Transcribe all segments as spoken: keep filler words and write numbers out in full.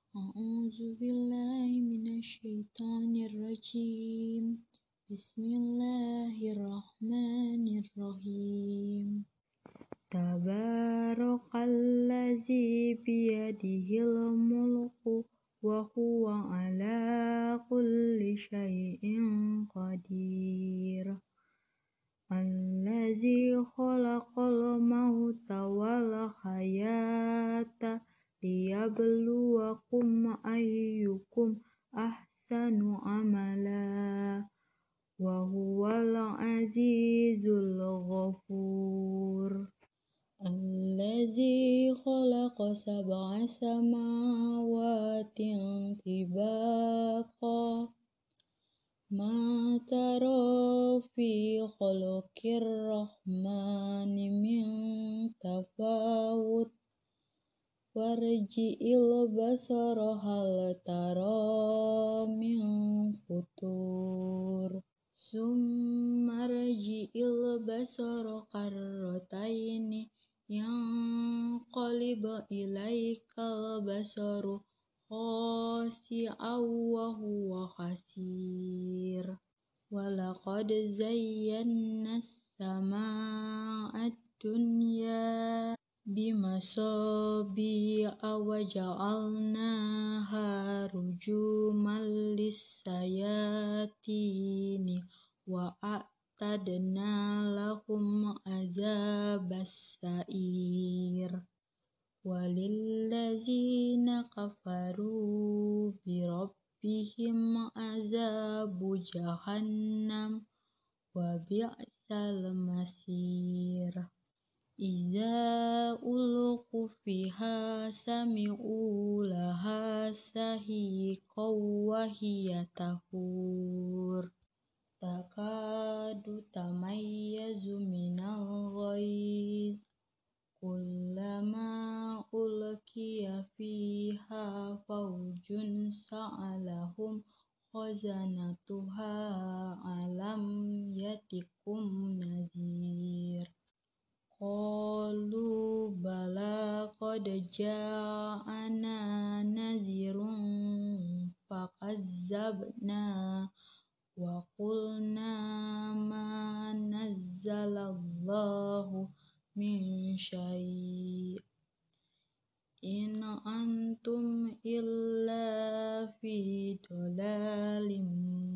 أعوذ بالله من الشيطان الرجيم بسم الله الرحمن الرحيم تبارك الذي بيده الملك وهو على كل شيء قدير الذي خلق الموت والحياة liyabluwakum ayyukum ahsanu amala wa huwal azizul ghafur allazi khalaqa sab'a samawatin tibaqa ma tara fi khalqir rahmani min tafawut warji'il basara hal tara min futur summa rji'il basara karrataini yang qalib ilaikal basaru khasi'aw wa huwa khasir walaqad zayyana as-samaa'a ad-dunya bimasabi'a wa ja'alnaha rujuman lis-sayatini wa a'tadna lahum azabas sa'ir walillazina kafaru birabbihim azabu jahannam wa bi'sal masir Iza ulqu fiha sami'u laha sahiqaw wa hiya tafur takadu tamayyazu minal ghaiz kullama ulqiya fiha fawjun sa'alahum khazanatuha alam yatikum nazir qalu bala qad ja'ana nazirun fakazzabna wa qulna ma nazzalallahu min syai' in antum illa fi dhalalim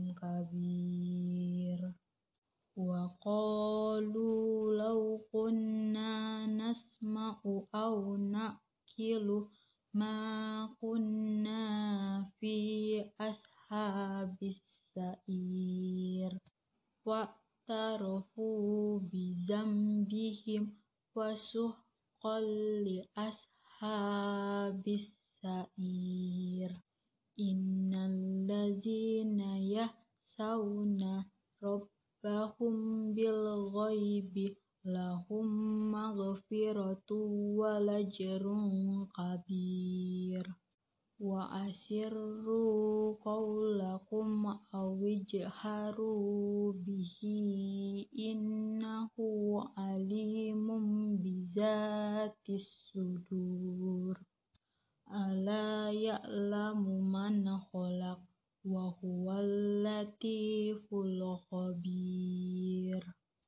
kabir wa qalu law kunna nasma'u aw naqilu ma kunna fi ashabis sa'ir wa tarafu bizambihim wasuqqal li ashabis sa'ir innal ladzina yahsawna rabbahum bil ghaibi lahum maghfiratu wa lajrun kabir wa asirru qawlakum awijharu bihi innahu alimun bizatis sudur ala ya'lamu man khalaq wa huwal latiful khabir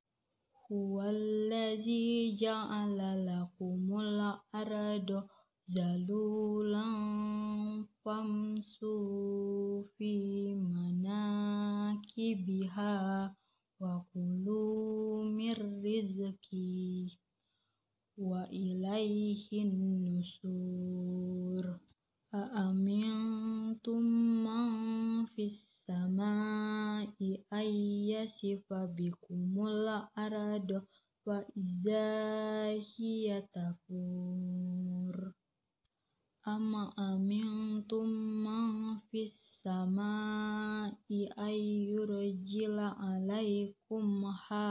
huwallazi ja'ala lakumul arda zalulan famsu fi manakibiha wa kulu mir rizqi wa ilaihin nusur a'amintum man fis samai ayyasifa bikumul arda wa idza hiya tafur ama amintum man fis samai ayyurjila alaikum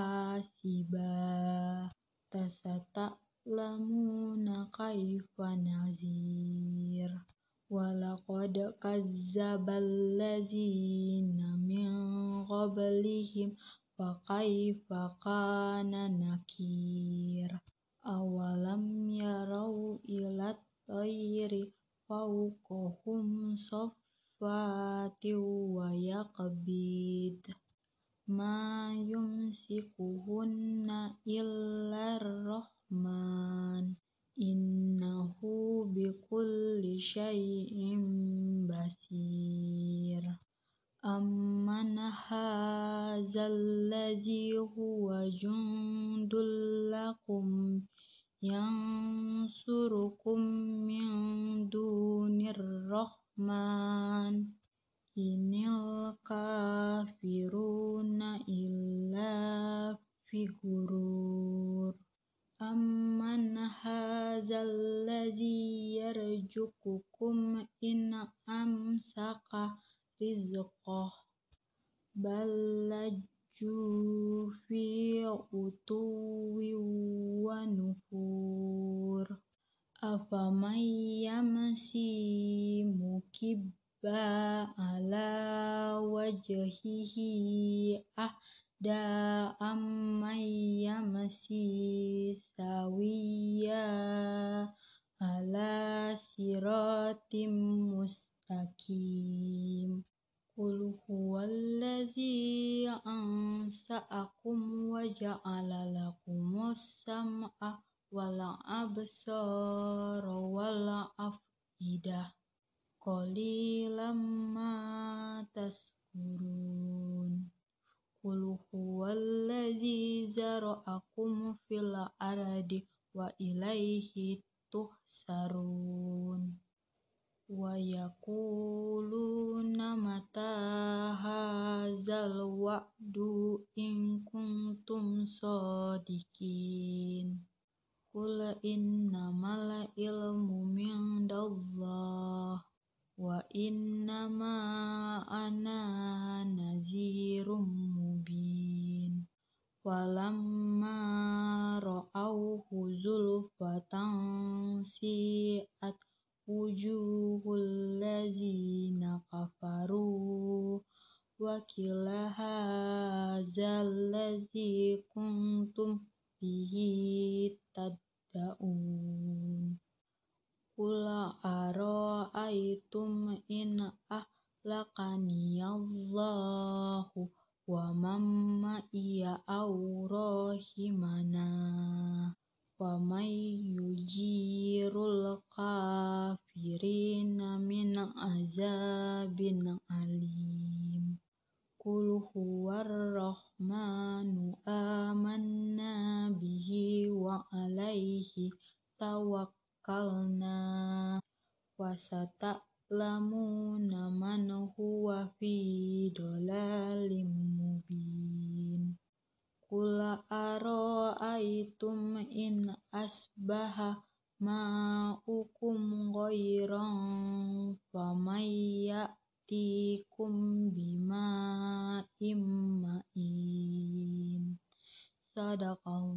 hasiba tasata'lamuna kaifa nazir walaqad kazzabal ladzina min qablihim fa kaifa kana nakir awalam yarau ila tayri فوقهم صفات ويقبض ما يمسكهن إلا الرحمن إنه بكل شيء بصير أمن هذا الذي هو جند لكم ينصركم من دون الرحمن إن الكافرون إلا في غرور أمن هذا الذي يرزقكم إن أمسك رزقه بل لجوا في عتو ونفور أفمن يمشي مكبا على وجهه أهدى أمن يمشي سويا على صراط مستقيم قل هو الذي أنشأكم وجعل لكم السمع والأبصار والأفئدة قليلا ما تشكرون قل هو الذي ذرأكم في الأرض وإليه تحشرون ويقولون متى هذا الوعد إن كنتم صادقين قل إنما العلم عند الله وإنما أنا نذير مبين فلما رأوه زلفة سيئت وجوه الذين كفروا وقيل هذا الذي كنتم به تدعون قل أرأيتم إن أهلكني الله ومن معي أو رحمنا فمن يجير الكافرين من عذاب أليم قل هو الرحمن آمنا به وعليه توكلنا وستعلمون من هو في ضلال مبين قل أرأيتم إن أصبح ماؤكم غيرا فمن يأتيكم بماء معين صدق الله.